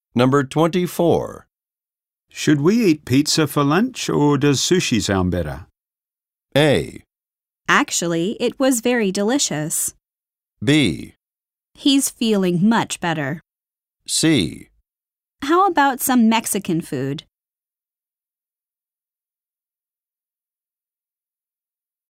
Number 24. Should we eat pizza for lunch or does sushi sound better? A. Actually, it was very delicious. B. He's feeling much better. C. How about some Mexican food?